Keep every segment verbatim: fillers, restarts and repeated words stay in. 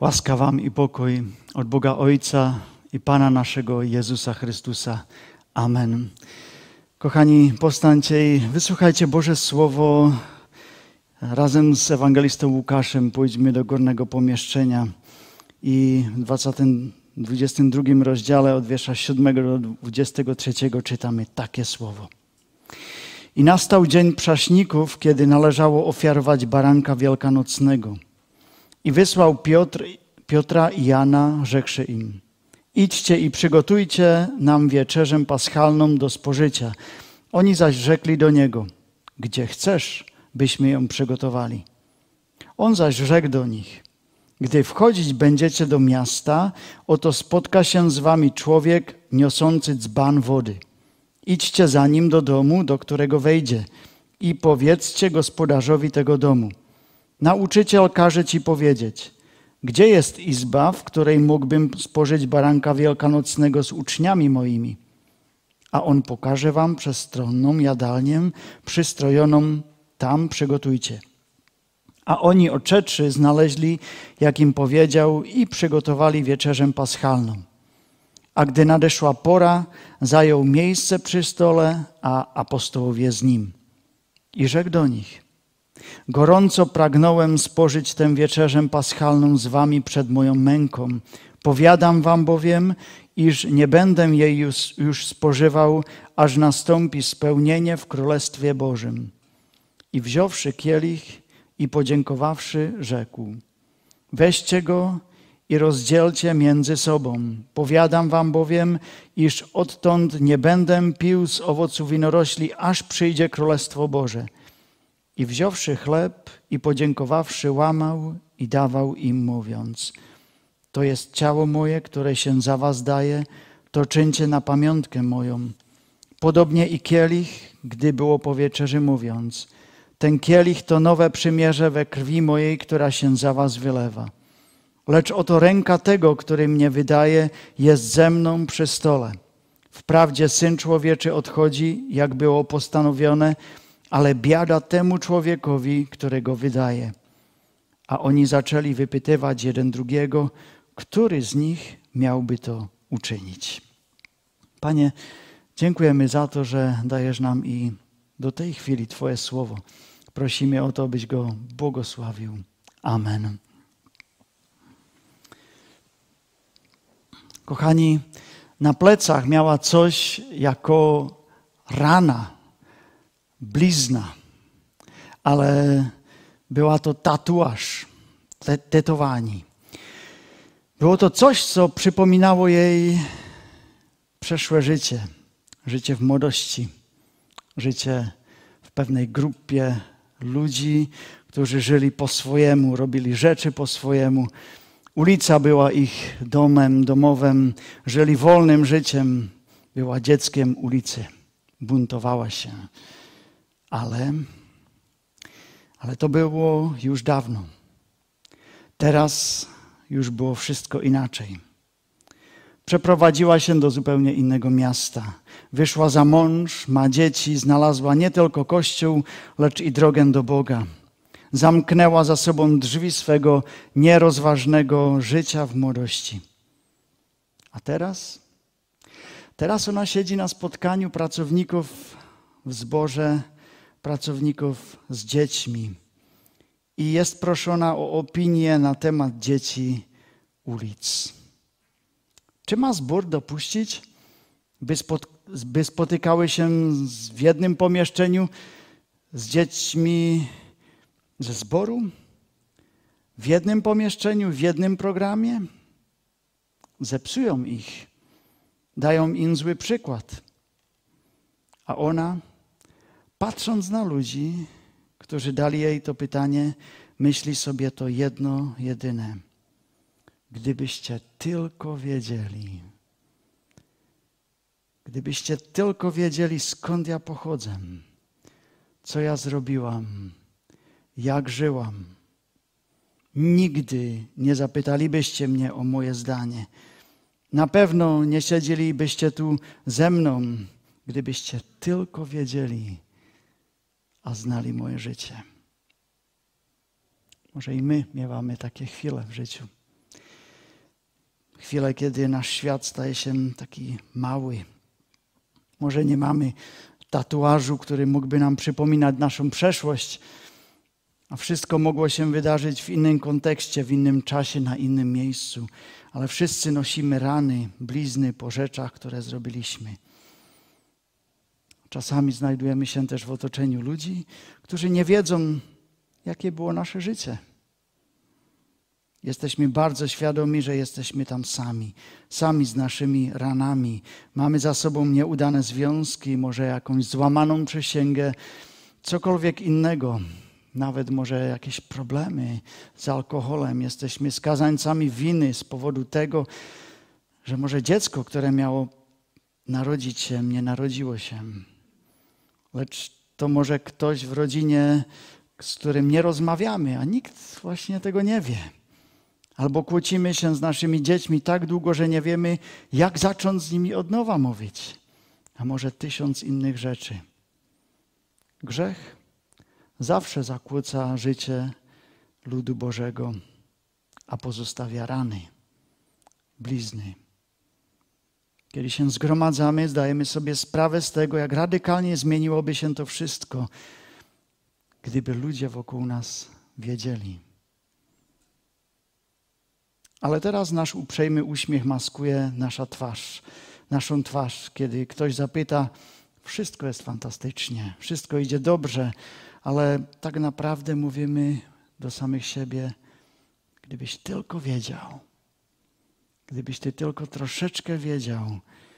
Łaska wam i pokój od Boga Ojca i Pana naszego Jezusa Chrystusa. Amen. Kochani, powstańcie i wysłuchajcie Boże Słowo. Razem z ewangelistą Łukaszem pójdźmy do górnego pomieszczenia i w dwudziestym drugim rozdziale od wiersza siódmego do dwudziestego trzeciego czytamy takie słowo. I nastał dzień prześników, kiedy należało ofiarować baranka wielkanocnego. I wysłał Piotr, Piotra i Jana, rzekłszy im: idźcie i przygotujcie nam wieczerzę paschalną do spożycia. Oni zaś rzekli do niego: gdzie chcesz, byśmy ją przygotowali? On zaś rzekł do nich: gdy wchodzić będziecie do miasta, oto spotka się z wami człowiek niosący dzban wody. Idźcie za nim do domu, do którego wejdzie, i powiedzcie gospodarzowi tego domu: nauczyciel każe ci powiedzieć, gdzie jest izba, w której mógłbym spożyć baranka wielkanocnego z uczniami moimi? A on pokaże wam przestronną jadalnię przystrojoną, tam przygotujcie. A oni odszedłszy znaleźli, jak im powiedział, i przygotowali wieczerzę paschalną. A gdy nadeszła pora, zajął miejsce przy stole, a apostołowie z nim. I rzekł do nich: gorąco pragnąłem spożyć tę wieczerzę paschalną z wami przed moją męką. Powiadam wam bowiem, iż nie będę jej już, już spożywał, aż nastąpi spełnienie w Królestwie Bożym. I wziąwszy kielich i podziękowawszy, rzekł: weźcie go i rozdzielcie między sobą. Powiadam wam bowiem, iż odtąd nie będę pił z owocu winorośli, aż przyjdzie Królestwo Boże. I wziąwszy chleb i podziękowawszy, łamał i dawał im, mówiąc: to jest ciało moje, które się za was daje, to czyńcie na pamiątkę moją. Podobnie i kielich, gdy było po wieczerzy, mówiąc: ten kielich to nowe przymierze we krwi mojej, która się za was wylewa. Lecz oto ręka tego, który mnie wydaje, jest ze mną przy stole. Wprawdzie Syn Człowieczy odchodzi, jak było postanowione, ale biada temu człowiekowi, którego wydaje. A oni zaczęli wypytywać jeden drugiego, który z nich miałby to uczynić. Panie, dziękujemy za to, że dajesz nam i do tej chwili Twoje słowo. Prosimy o to, byś go błogosławił. Amen. Kochani, na plecach miała coś jako rana, blizna, ale była to tatuaż, tetowani. Było to coś, co przypominało jej przeszłe życie, życie w młodości, życie w pewnej grupie ludzi, którzy żyli po swojemu, robili rzeczy po swojemu. Ulica była ich domem, domowym, żyli wolnym życiem, była dzieckiem ulicy, buntowała się. Ale, ale to było już dawno. Teraz już było wszystko inaczej. Przeprowadziła się do zupełnie innego miasta. Wyszła za mąż, ma dzieci, znalazła nie tylko Kościół, lecz i drogę do Boga. Zamknęła za sobą drzwi swego nierozważnego życia w młodości. A teraz? Teraz ona siedzi na spotkaniu pracowników w zborze, pracowników z dziećmi i jest proszona o opinię na temat dzieci ulic. Czy ma zbór dopuścić, by, spot, by spotykały się w jednym pomieszczeniu z dziećmi ze zboru? W jednym pomieszczeniu, w jednym programie? Zepsują ich, dają im zły przykład. A ona, patrząc na ludzi, którzy dali jej to pytanie, myśli sobie to jedno, jedyne. Gdybyście tylko wiedzieli, gdybyście tylko wiedzieli, skąd ja pochodzę, co ja zrobiłam, jak żyłam, nigdy nie zapytalibyście mnie o moje zdanie. Na pewno nie siedzielibyście tu ze mną, gdybyście tylko wiedzieli, a znali moje życie. Może i my miewamy takie chwile w życiu. chwile, kiedy nasz świat staje się taki mały. Może nie mamy tatuażu, który mógłby nam przypominać naszą przeszłość, a wszystko mogło się wydarzyć w innym kontekście, w innym czasie, na innym miejscu. Ale wszyscy nosimy rany, blizny po rzeczach, które zrobiliśmy. Czasami znajdujemy się też w otoczeniu ludzi, którzy nie wiedzą, jakie było nasze życie. Jesteśmy bardzo świadomi, że jesteśmy tam sami. Sami z naszymi ranami. Mamy za sobą nieudane związki, może jakąś złamaną przysięgę, cokolwiek innego. Nawet może jakieś problemy z alkoholem. Jesteśmy skazańcami winy z powodu tego, że może dziecko, które miało narodzić się, nie narodziło się. Lecz to może ktoś w rodzinie, z którym nie rozmawiamy, a nikt właśnie tego nie wie. Albo kłócimy się z naszymi dziećmi tak długo, że nie wiemy, jak zacząć z nimi od nowa mówić. A może tysiąc innych rzeczy. Grzech zawsze zakłóca życie ludu Bożego, a pozostawia rany, blizny. Kiedy się zgromadzamy, zdajemy sobie sprawę z tego, jak radykalnie zmieniłoby się to wszystko, gdyby ludzie wokół nas wiedzieli. Ale teraz nasz uprzejmy uśmiech maskuje nasza twarz, naszą twarz. Kiedy ktoś zapyta, wszystko jest fantastycznie, wszystko idzie dobrze, ale tak naprawdę mówimy do samych siebie, gdybyś tylko wiedział, gdybyś ty tylko troszeczkę wiedział,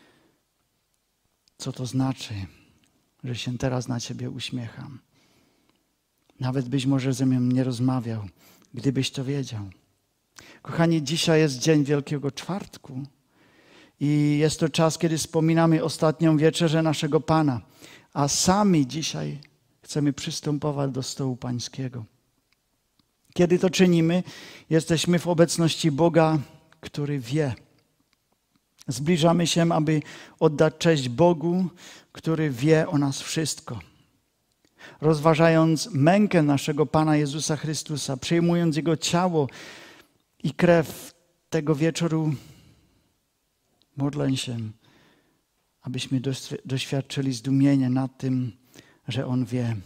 co to znaczy, że się teraz na ciebie uśmiecham. Nawet byś może ze mną nie rozmawiał, gdybyś to wiedział. Kochani, dzisiaj jest dzień Wielkiego Czwartku i jest to czas, kiedy wspominamy ostatnią wieczerzę naszego Pana, a sami dzisiaj chcemy przystępować do stołu Pańskiego. Kiedy to czynimy, jesteśmy w obecności Boga, który wie. Zbliżamy się, aby oddać cześć Bogu, który wie o nas wszystko. Rozważając mękę naszego Pana Jezusa Chrystusa, przyjmując Jego ciało i krew tego wieczoru, modlę się, abyśmy doświadczyli zdumienia nad tym, że On wie.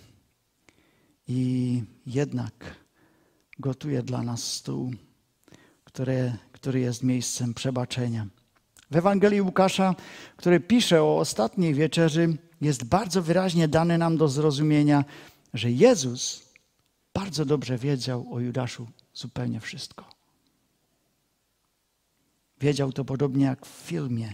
I jednak gotuje dla nas stół, który, który jest miejscem przebaczenia. W Ewangelii Łukasza, który pisze o ostatniej wieczerzy, jest bardzo wyraźnie dane nam do zrozumienia, że Jezus bardzo dobrze wiedział o Judaszu zupełnie wszystko. Wiedział to podobnie jak w filmie.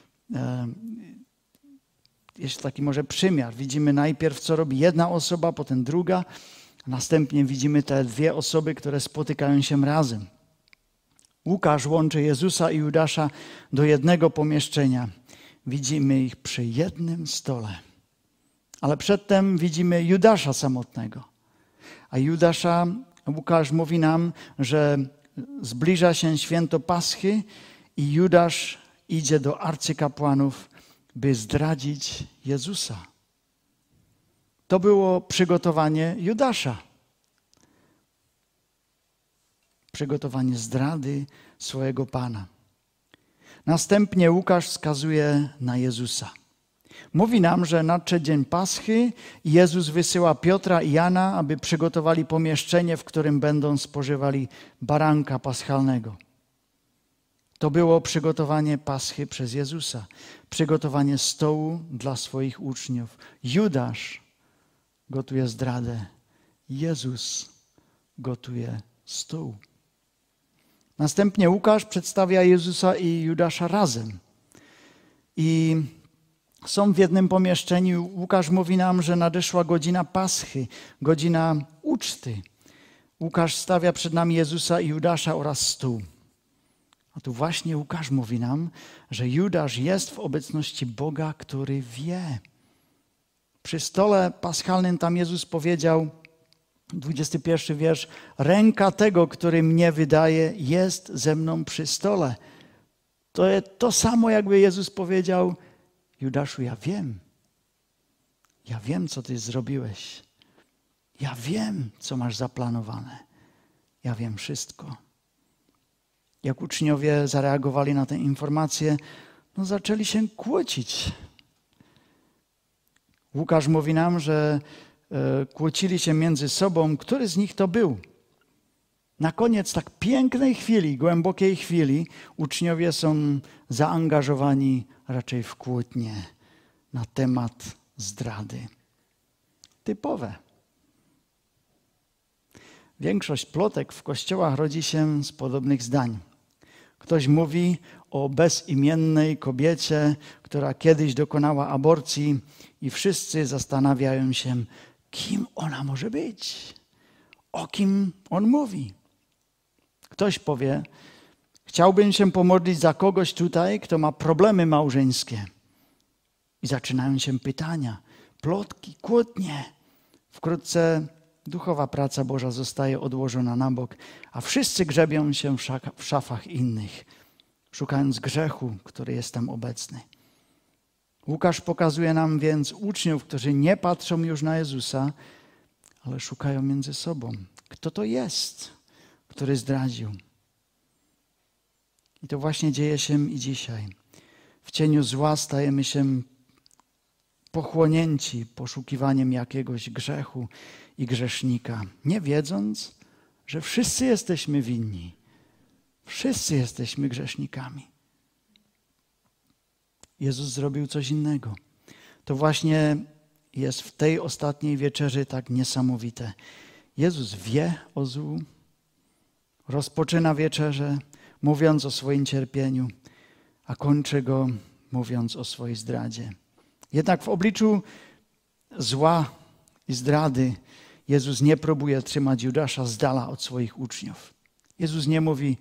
Jest taki może przymiar. Widzimy najpierw, co robi jedna osoba, potem druga. Następnie widzimy te dwie osoby, które spotykają się razem. Łukasz łączy Jezusa i Judasza do jednego pomieszczenia. Widzimy ich przy jednym stole. Ale przedtem widzimy Judasza samotnego. A Judasza, Łukasz mówi nam, że zbliża się święto Paschy i Judasz idzie do arcykapłanów, by zdradzić Jezusa. To było przygotowanie Judasza. Przygotowanie zdrady swojego Pana. Następnie Łukasz wskazuje na Jezusa. Mówi nam, że nadszedł dzień Paschy i Jezus wysyła Piotra i Jana, aby przygotowali pomieszczenie, w którym będą spożywali baranka paschalnego. To było przygotowanie Paschy przez Jezusa. Przygotowanie stołu dla swoich uczniów. Judasz gotuje zdradę. Jezus gotuje stół. Następnie Łukasz przedstawia Jezusa i Judasza razem. I są w jednym pomieszczeniu. Łukasz mówi nam, że nadeszła godzina Paschy, godzina uczty. Łukasz stawia przed nami Jezusa i Judasza oraz stół. A tu właśnie Łukasz mówi nam, że Judasz jest w obecności Boga, który wie. Przy stole paschalnym tam Jezus powiedział, dwudziesty pierwszy wiersz, ręka tego, który mnie wydaje, jest ze mną przy stole. To jest to samo, jakby Jezus powiedział, Judaszu, ja wiem. Ja wiem, co ty zrobiłeś. Ja wiem, co masz zaplanowane. Ja wiem wszystko. Jak uczniowie zareagowali na tę informację? No zaczęli się kłócić. Łukasz mówi nam, że e, kłócili się między sobą, który z nich to był. Na koniec tak pięknej chwili, głębokiej chwili, uczniowie są zaangażowani raczej w kłótnię na temat zdrady. Typowe. Większość plotek w kościołach rodzi się z podobnych zdań. Ktoś mówi o bezimiennej kobiecie, która kiedyś dokonała aborcji i wszyscy zastanawiają się, kim ona może być, o kim on mówi. Ktoś powie, chciałbym się pomodlić za kogoś tutaj, kto ma problemy małżeńskie. I zaczynają się pytania, plotki, kłótnie. Wkrótce duchowa praca Boża zostaje odłożona na bok, a wszyscy grzebią się w szafach innych, szukając grzechu, który jest tam obecny. Łukasz pokazuje nam więc uczniów, którzy nie patrzą już na Jezusa, ale szukają między sobą. Kto to jest, który zdradził? I to właśnie dzieje się i dzisiaj. W cieniu zła stajemy się pochłonięci poszukiwaniem jakiegoś grzechu i grzesznika, nie wiedząc, że wszyscy jesteśmy winni. Wszyscy jesteśmy grzesznikami. Jezus zrobił coś innego. To właśnie jest w tej ostatniej wieczerzy tak niesamowite. Jezus wie o złu, rozpoczyna wieczerzę, mówiąc o swoim cierpieniu, a kończy go mówiąc o swojej zdradzie. Jednak w obliczu zła i zdrady Jezus nie próbuje trzymać Judasza z dala od swoich uczniów. Jezus nie mówi,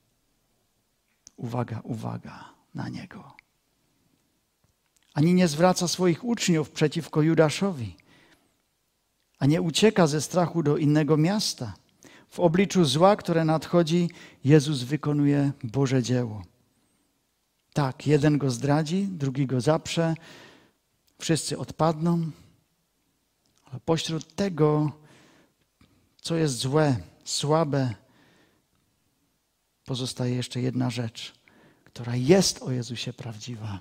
uwaga, uwaga na niego. Ani nie zwraca swoich uczniów przeciwko Judaszowi, a nie ucieka ze strachu do innego miasta. W obliczu zła, które nadchodzi, Jezus wykonuje Boże dzieło. Tak, jeden go zdradzi, drugi go zaprze, wszyscy odpadną, ale pośród tego, co jest złe, słabe, pozostaje jeszcze jedna rzecz, która jest o Jezusie prawdziwa.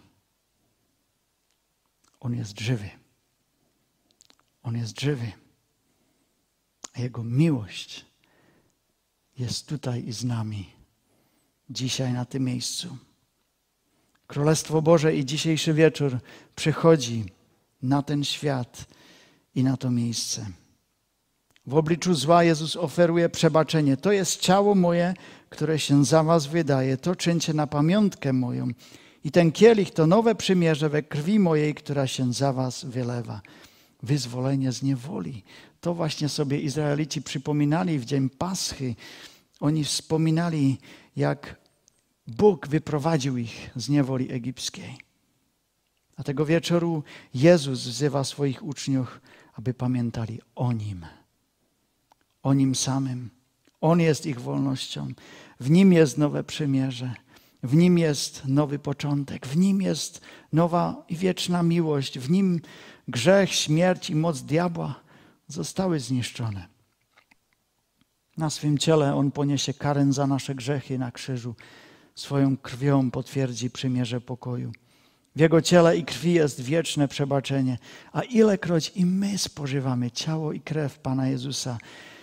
On jest żywy. On jest żywy. A Jego miłość jest tutaj i z nami. Dzisiaj na tym miejscu. Królestwo Boże i dzisiejszy wieczór przychodzi na ten świat i na to miejsce. W obliczu zła Jezus oferuje przebaczenie. To jest ciało moje, które się za was wydaje. To czyńcie na pamiątkę moją. I ten kielich to nowe przymierze we krwi mojej, która się za was wylewa. Wyzwolenie z niewoli. To właśnie sobie Izraelici przypominali w dzień Paschy. Oni wspominali, jak Bóg wyprowadził ich z niewoli egipskiej. A tego wieczoru Jezus wzywa swoich uczniów, aby pamiętali o Nim. O Nim samym. On jest ich wolnością. W Nim jest nowe przymierze. W Nim jest nowy początek. W Nim jest nowa i wieczna miłość. W Nim grzech, śmierć i moc diabła zostały zniszczone. Na swym ciele On poniesie karę za nasze grzechy na krzyżu. Swoją krwią potwierdzi przymierze pokoju. W Jego ciele i krwi jest wieczne przebaczenie. A ilekroć i my spożywamy ciało i krew Pana Jezusa,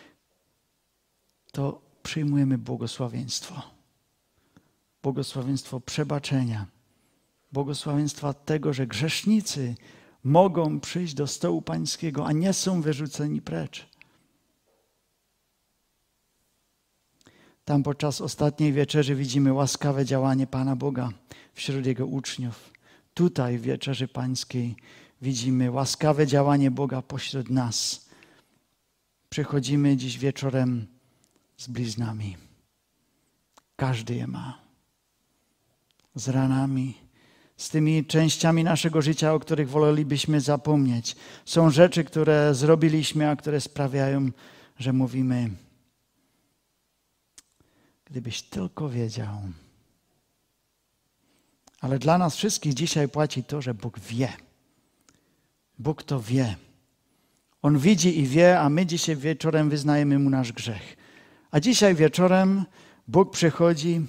to przyjmujemy błogosławieństwo. Błogosławieństwo przebaczenia. Błogosławieństwa tego, że grzesznicy mogą przyjść do stołu Pańskiego, a nie są wyrzuceni precz. Tam podczas ostatniej wieczerzy widzimy łaskawe działanie Pana Boga wśród Jego uczniów. Tutaj w wieczerzy Pańskiej widzimy łaskawe działanie Boga pośród nas. Przychodzimy dziś wieczorem z bliznami. Każdy je ma. Z ranami, z tymi częściami naszego życia, o których wolelibyśmy zapomnieć. Są rzeczy, które zrobiliśmy, a które sprawiają, że mówimy, gdybyś tylko wiedział. Ale dla nas wszystkich dzisiaj płaci to, że Bóg wie. Bóg to wie. On widzi i wie, a my dzisiaj wieczorem wyznajemy Mu nasz grzech. A dzisiaj wieczorem Bóg przychodzi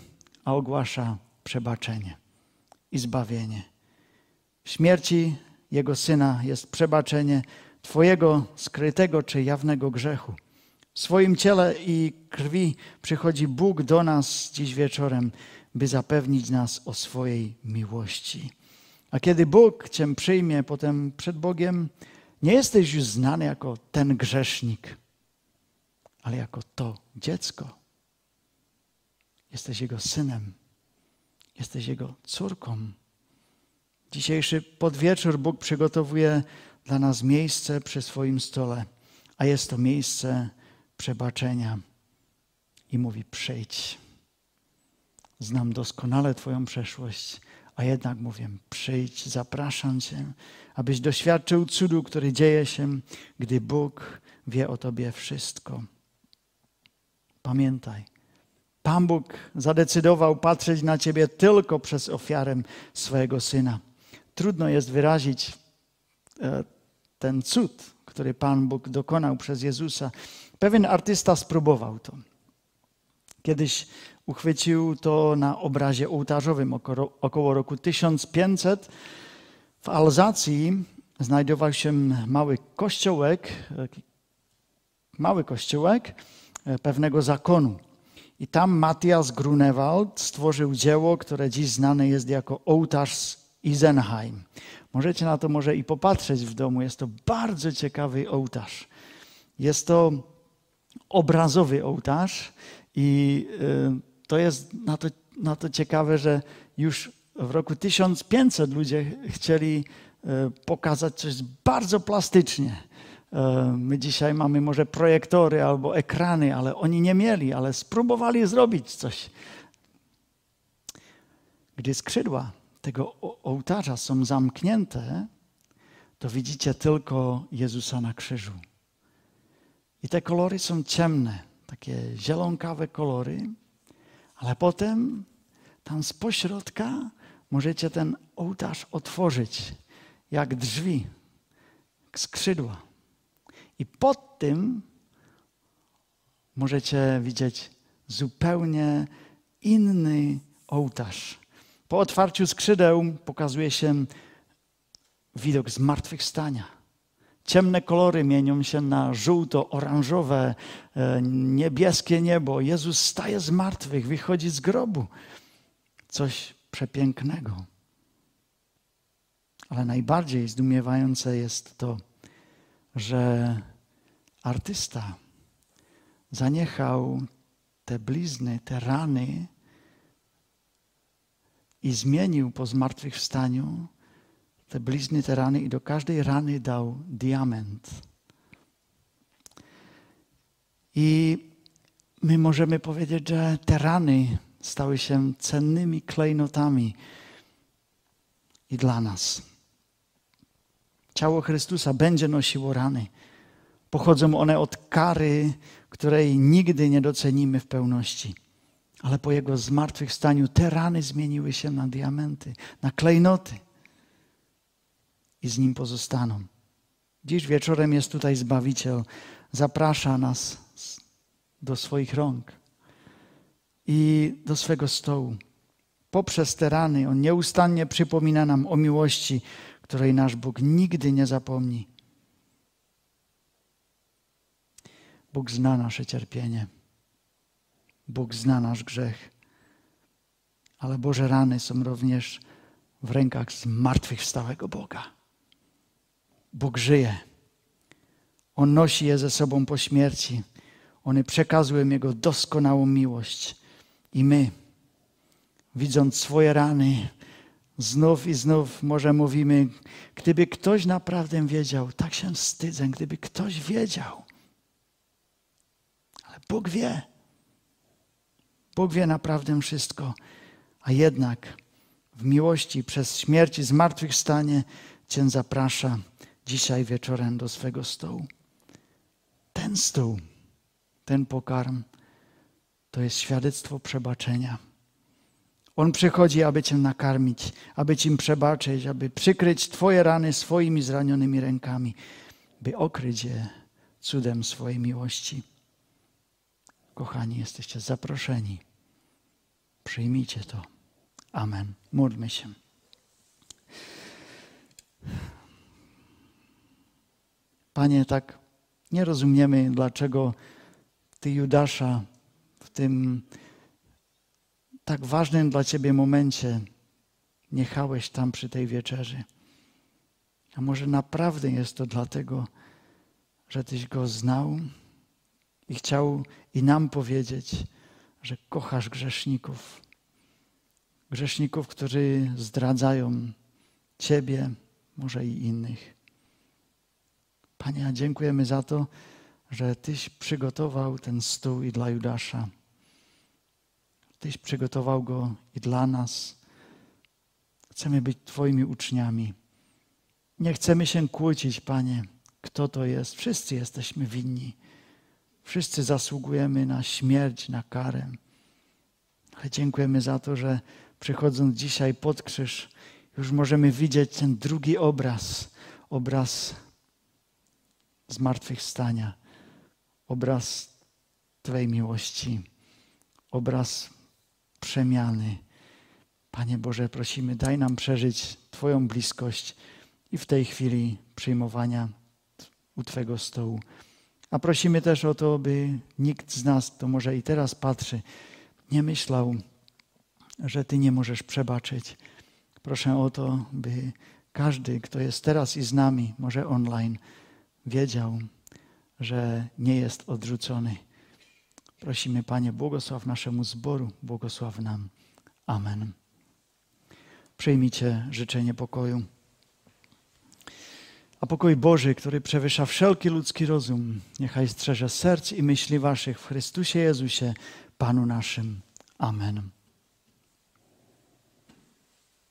a ogłasza przebaczenie i zbawienie. W śmierci Jego Syna jest przebaczenie Twojego skrytego czy jawnego grzechu. W swoim ciele i krwi przychodzi Bóg do nas dziś wieczorem, by zapewnić nas o swojej miłości. A kiedy Bóg Cię przyjmie potem przed Bogiem, nie jesteś już znany jako ten grzesznik, ale jako to dziecko. Jesteś Jego synem. Jesteś Jego córką. Dzisiejszy podwieczór Bóg przygotowuje dla nas miejsce przy swoim stole, a jest to miejsce przebaczenia. I mówi: przyjdź. Znam doskonale Twoją przeszłość, a jednak mówię: przyjdź, zapraszam Cię, abyś doświadczył cudu, który dzieje się, gdy Bóg wie o Tobie wszystko. Pamiętaj, Pan Bóg zadecydował patrzeć na Ciebie tylko przez ofiarę swojego Syna. Trudno jest wyrazić ten cud, który Pan Bóg dokonał przez Jezusa. Pewien artysta spróbował to. Kiedyś uchwycił to na obrazie ołtarzowym około, około roku tysiąc pięćset. W Alzacji znajdował się mały kościółek, mały kościółek pewnego zakonu. I tam Matthias Grunewald stworzył dzieło, które dziś znane jest jako ołtarz z Isenheim. Możecie na to może i popatrzeć w domu. Jest to bardzo ciekawy ołtarz. Jest to obrazowy ołtarz i to jest na to, na to ciekawe, że już w roku tysiąc pięćset ludzie chcieli pokazać coś bardzo plastycznie. My dzisiaj mamy może projektory albo ekrany, ale oni nie mieli, ale spróbowali zrobić coś. Gdy skrzydła tego ołtarza są zamknięte, to widzicie tylko Jezusa na krzyżu. I te kolory są ciemne, takie zielonkawe kolory, ale potem tam z pośrodka możecie ten ołtarz otworzyć, jak drzwi, jak skrzydła. I pod tym możecie widzieć zupełnie inny ołtarz. Po otwarciu skrzydeł pokazuje się widok zmartwychwstania. Ciemne kolory mienią się na żółto-oranżowe, niebieskie niebo. Jezus staje z martwych, wychodzi z grobu. Coś przepięknego. Ale najbardziej zdumiewające jest to, że artysta zaniechał te blizny, te rany i zmienił po zmartwychwstaniu te blizny, te rany i do każdej rany dał diament. I my możemy powiedzieć, że te rany stały się cennymi klejnotami i dla nas. Ciało Chrystusa będzie nosiło rany. Pochodzą one od kary, której nigdy nie docenimy w pełności. Ale po Jego zmartwychwstaniu te rany zmieniły się na diamenty, na klejnoty. I z Nim pozostaną. Dziś wieczorem jest tutaj Zbawiciel. Zaprasza nas do swoich rąk i do swego stołu. Poprzez te rany On nieustannie przypomina nam o miłości, której nasz Bóg nigdy nie zapomni. Bóg zna nasze cierpienie. Bóg zna nasz grzech. Ale Boże rany są również w rękach zmartwychwstałego Boga. Bóg żyje. On nosi je ze sobą po śmierci. One przekazują Jego doskonałą miłość. I my, widząc swoje rany, znów i znów może mówimy, gdyby ktoś naprawdę wiedział, tak się wstydzę, gdyby ktoś wiedział. Ale Bóg wie. Bóg wie naprawdę wszystko. A jednak w miłości przez śmierć i zmartwychwstanie Cię zaprasza dzisiaj wieczorem do swego stołu. Ten stół, ten pokarm to jest świadectwo przebaczenia. On przychodzi, aby Cię nakarmić, aby Ci przebaczyć, aby przykryć Twoje rany swoimi zranionymi rękami, by okryć je cudem swojej miłości. Kochani, jesteście zaproszeni. Przyjmijcie to. Amen. Módlmy się. Panie, tak nie rozumiemy, dlaczego Ty, Judasza, w tym tak ważnym dla Ciebie momencie jechałeś tam przy tej wieczerzy. A może naprawdę jest to dlatego, że Tyś Go znał i chciał i nam powiedzieć, że kochasz grzeszników. Grzeszników, którzy zdradzają Ciebie, może i innych. Panie, dziękujemy za to, że Tyś przygotował ten stół i dla Judasza. Tyś przygotował go i dla nas. Chcemy być Twoimi uczniami. Nie chcemy się kłócić, Panie, kto to jest. Wszyscy jesteśmy winni. Wszyscy zasługujemy na śmierć, na karę. Ale dziękujemy za to, że przychodząc dzisiaj pod krzyż, już możemy widzieć ten drugi obraz. Obraz zmartwychwstania. Obraz Twojej miłości. Obraz przemiany. Panie Boże, prosimy, daj nam przeżyć Twoją bliskość i w tej chwili przyjmowania u Twego stołu. A prosimy też o to, by nikt z nas, kto może i teraz patrzy, nie myślał, że Ty nie możesz przebaczyć. Proszę o to, by każdy, kto jest teraz i z nami, może online, wiedział, że nie jest odrzucony. Prosimy, Panie, błogosław naszemu zboru, błogosław nam. Amen. Przyjmijcie życzenie pokoju. A pokój Boży, który przewyższa wszelki ludzki rozum, niechaj strzeże serc i myśli waszych w Chrystusie Jezusie, Panu naszym. Amen.